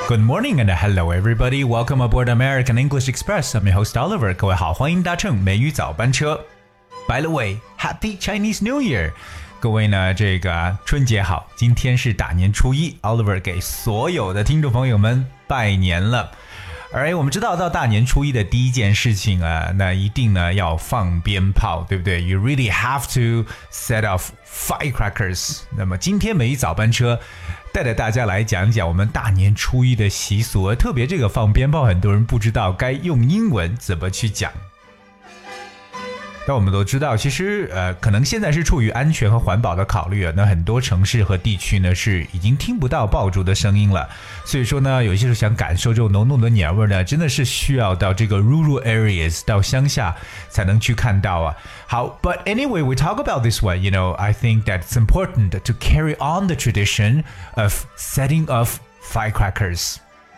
Good morning and hello everybody. Welcome aboard American English Express. I'm your host Oliver. 各位好，欢迎搭乘美语早班车。By the way, Happy Chinese New Year. 各位呢，这个春节好，今天是大年初一 ，Oliver 给所有的听众朋友们拜年了。而我们知道到大年初一的第一件事情啊，那一定呢要放鞭炮，对不对 ？You really have to set off firecrackers. 那么今天美语早班车带着大家来讲讲我们大年初一的习俗，特别这个放鞭炮，很多人不知道该用英文怎么去讲。但我们都知道，其实可能现在是出于安全和环保的考虑啊，那很多城市和地区呢是已经听不到爆竹的声音了。所以说呢，有些时候想感受这种浓浓的年味呢，真的是需要到这个 rural areas 到乡下才能去看到啊。好 ，But anyway, we talk about this one. You know, I think that it's important to carry on the tradition of setting off firecrackers.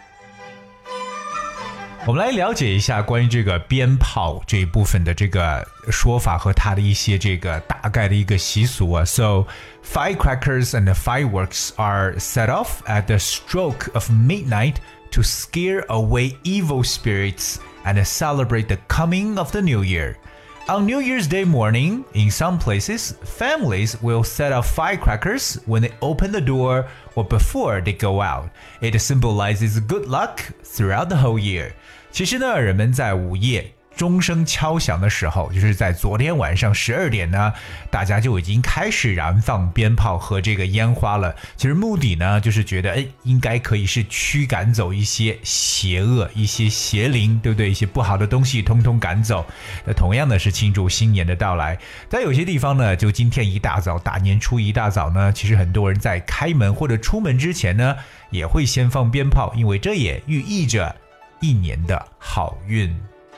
我们来了解一下关于这个鞭炮这一部分的这个说法和它的一些这个大概的一个习俗啊。So, firecrackers and fireworks are set off at the stroke of midnight to scare away evil spirits and celebrate the coming of the new year. On New Year's Day morning, in some places, families will set off firecrackers when they open the door or before they go out. It symbolizes good luck throughout the whole year. 其实呢，人们在午夜钟声敲响的时候，就是在昨天晚上12点呢，大家就已经开始燃放鞭炮和这个烟花了。其实目的呢，就是觉得应该可以是驱赶走一些邪恶、一些邪灵，对不对？一些不好的东西通通赶走。那同样的是庆祝新年的到来。在有些地方呢，就今天一大早，大年初一大早呢，其实很多人在开门或者出门之前呢，也会先放鞭炮，因为这也寓意着一年的好运。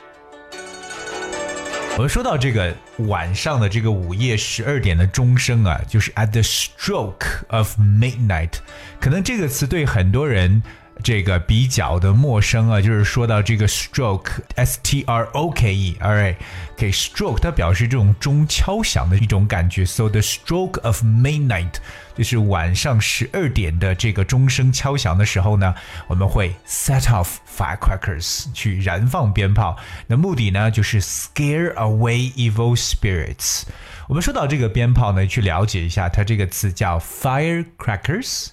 我们说到这个晚上的这个午夜12点的钟声啊，就是 at the stroke of midnight， 可能这个词对很多人这个比较的陌生啊，就是说到这个 stroke S-T-R-O-K-E alright， 给 stroke 它表示这种钟敲响的一种感觉 So the stroke of midnight 就是晚上12点的这个钟声敲响的时候呢，我们会 set off firecrackers 去燃放鞭炮，那目的呢就是 scare away evil spirits。 我们说到这个鞭炮呢，去了解一下它这个词叫 firecrackers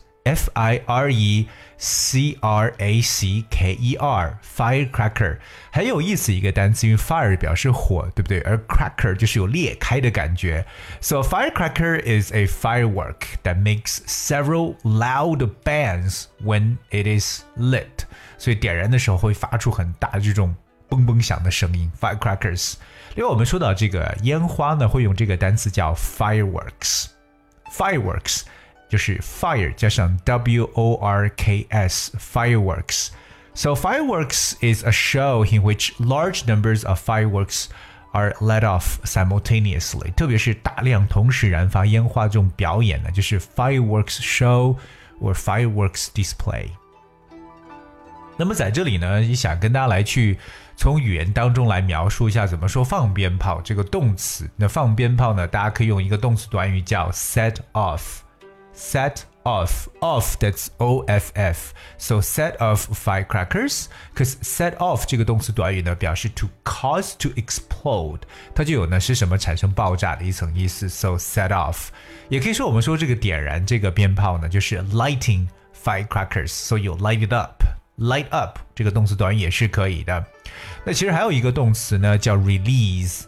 F-I-R-E-C-R-A-C-K-E-R Firecracker 很有意思一个单词，因为 fire 表示火，对不对？而 cracker 就是有裂开的感觉。 So a firecracker is a firework that makes several loud bangs when it is lit， 所以点燃的时候会发出很大的这种嘣嘣响的声音 Firecrackers。 另外我们说到这个烟花呢，会用这个单词叫 fireworks 就是 fire 加上 W-O-R-K-S fireworks. So fireworks is a show in which large numbers of fireworks are let off simultaneously. 特别是大量同时燃发烟花这种表演呢，就是 fireworks show or fireworks display. 那么在这里呢，也想跟大家来去从语言当中来描述一下怎么说放鞭炮这个动词。那放鞭炮呢，大家可以用一个动词短语叫 set off。Set off, that's O-F-F. So set off firecrackers, because set off 这个动词短语呢，表示 to cause to explode， 它就有呢是什么产生爆炸的一层意思。So set off， 也可以说我们说这个点燃这个鞭炮呢，就是 lighting firecrackers. So you light it up, light up 这个动词短语也是可以的。那其实还有一个动词呢，叫 release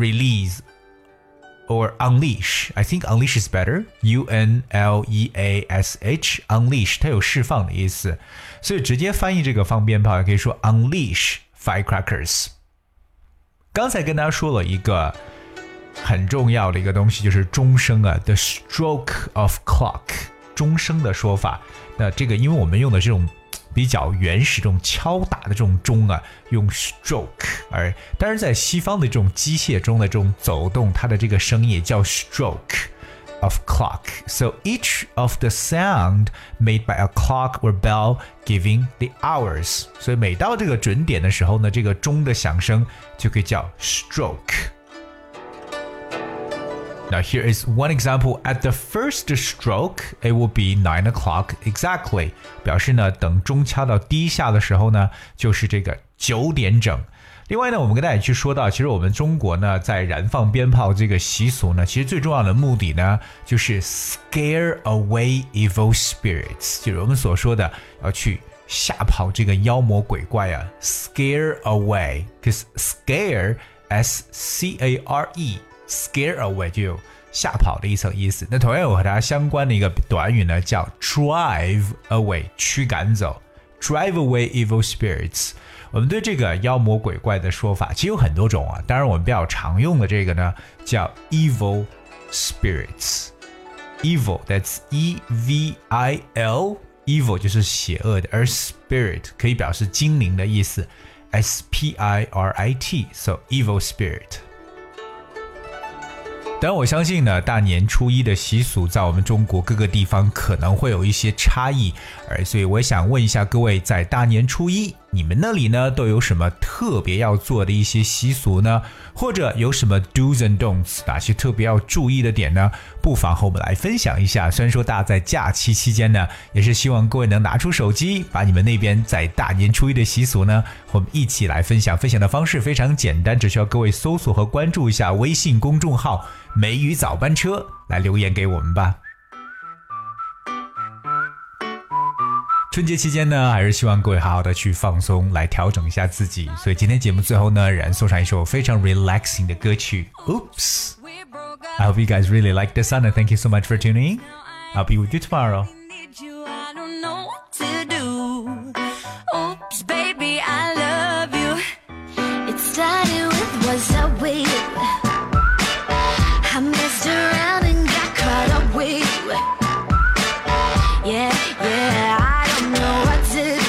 or unleash. I think unleash is better. U-N-L-E-A-S-H. Unleash 它有释放的意思，所以直接翻译这个放鞭炮也可以说 unleash firecrackers。 刚才跟大家说了一个很重要的一个东西，就是钟声啊 the stroke of clock 钟声的说法。那这个因为我们用的这种比较原始这种敲打的这种钟啊，用 stroke， 而但是在西方的这种机械钟的这种走动，它的这个声音也叫 stroke of clock. So each of the sound made by a clock or bell giving the hours. 所以每到这个准点的时候呢，这个钟的响声就可以叫 stroke。 Now here is one example. At the first stroke, it will be 9 o'clock exactly. 表示呢，等钟敲到第一下的时候呢，就是这个9点整。另外呢，我们跟大家去说到，其实我们中国呢，在燃放鞭炮这个习俗呢，其实最重要的目的呢，就是 scare away evil spirits， 就是我们所说的要去吓跑这个妖魔鬼怪啊 ，scare away，because scare S-C-A-R-E scare away 就有吓跑的一层意思。那同样有和它相关的一个短语呢，叫 drive away 驱赶走 ，drive away evil spirits。我们对这个妖魔鬼怪的说法其实有很多种啊，当然我们比较常用的这个呢叫 evil spirits。evil that's E-V-I-L evil 就是邪恶的，而 spirit 可以表示精灵的意思 S-P-I-R-I-T so evil spirit。当然我相信呢，大年初一的习俗在我们中国各个地方可能会有一些差异，所以我想问一下各位，在大年初一你们那里呢都有什么特别要做的一些习俗呢？或者有什么 do's and don'ts 哪些特别要注意的点呢？不妨和我们来分享一下。虽然说大家在假期期间呢，也是希望各位能拿出手机，把你们那边在大年初一的习俗呢和我们一起来分享。分享的方式非常简单，只需要各位搜索和关注一下微信公众号梅雨早班车，来留言给我们吧。春节期间呢，还是希望各位好好的去放松，来调整一下自己。所以今天节目最后呢，仍然送上一首非常 relaxing 的歌曲 Oops。 I hope you guys really like this song and thank you so much for tuning in. I'll be with you tomorrow. Oops, baby, I love you. It started with what's up with you. I messed around and got caught up with you. Yeah, I don't know what to do.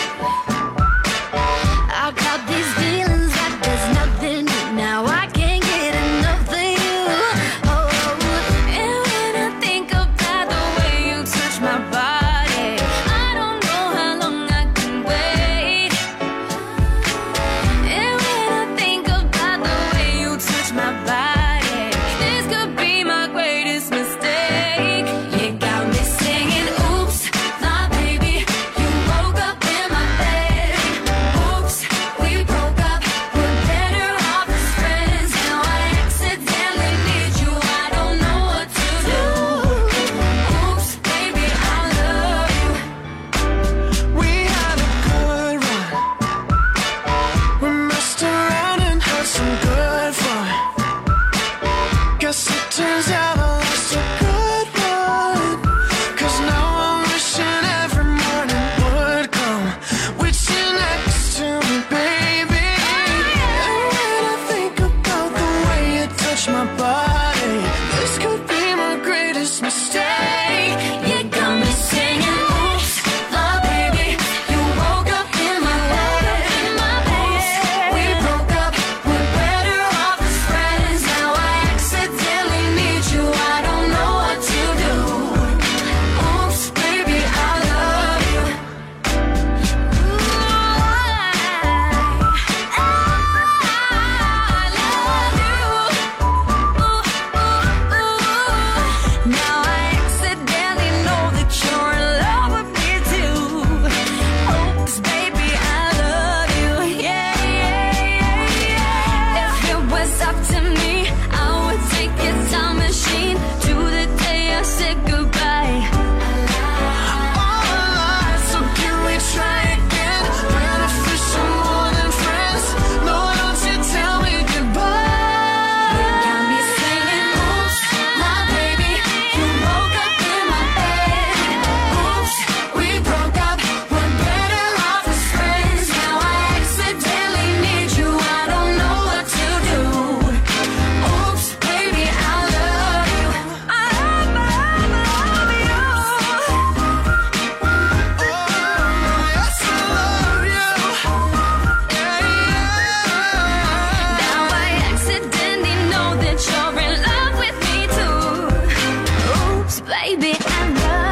I got these feelings like there's nothing new. Now I can't get enough of you. Oh, and when I think about the way you touch my body, I don't know how long I can wait. And when I think about the way you touch my body, this could be my greatest mistake. You got me singing, oops, my baby, you woke up in my bed. Oops, we broke up, we're better off as friends. Now I accidentally need you, I don't know what to do. Oops, baby, I love you. We had a good run. We messed around and had some good fun. Guess it turns out I lost a good one. 'Cause now I'm wishing every morning would come with you next to me, baby. And when I think about the way you touch my body, this could be my greatest mistake. You got me singing, oops, my baby, you woke up in my bed. Oops, we broke up, we're better off as friends. Now I accidentally need you, I don't know what to do. Oops, baby, I love you. Now I accidentally know that you're in love with me too. Oops, baby, I love you. Yeah. If it was up to me, I would take a time machine to the day I said goodbye. All alive, so can we try again? Beneficial more than friends. No, don't you tell me goodbye. You got me singing, oops, my baby, you woke up in my bed. Oops, we broke up, we're better off as friends. Now I accidentally need you, I don't know what to do. Oops, baby, I love you. I love you. Oh, yes, I love you. Yeah. Now I accidentally know that you're in love with me too. Oops, baby, I love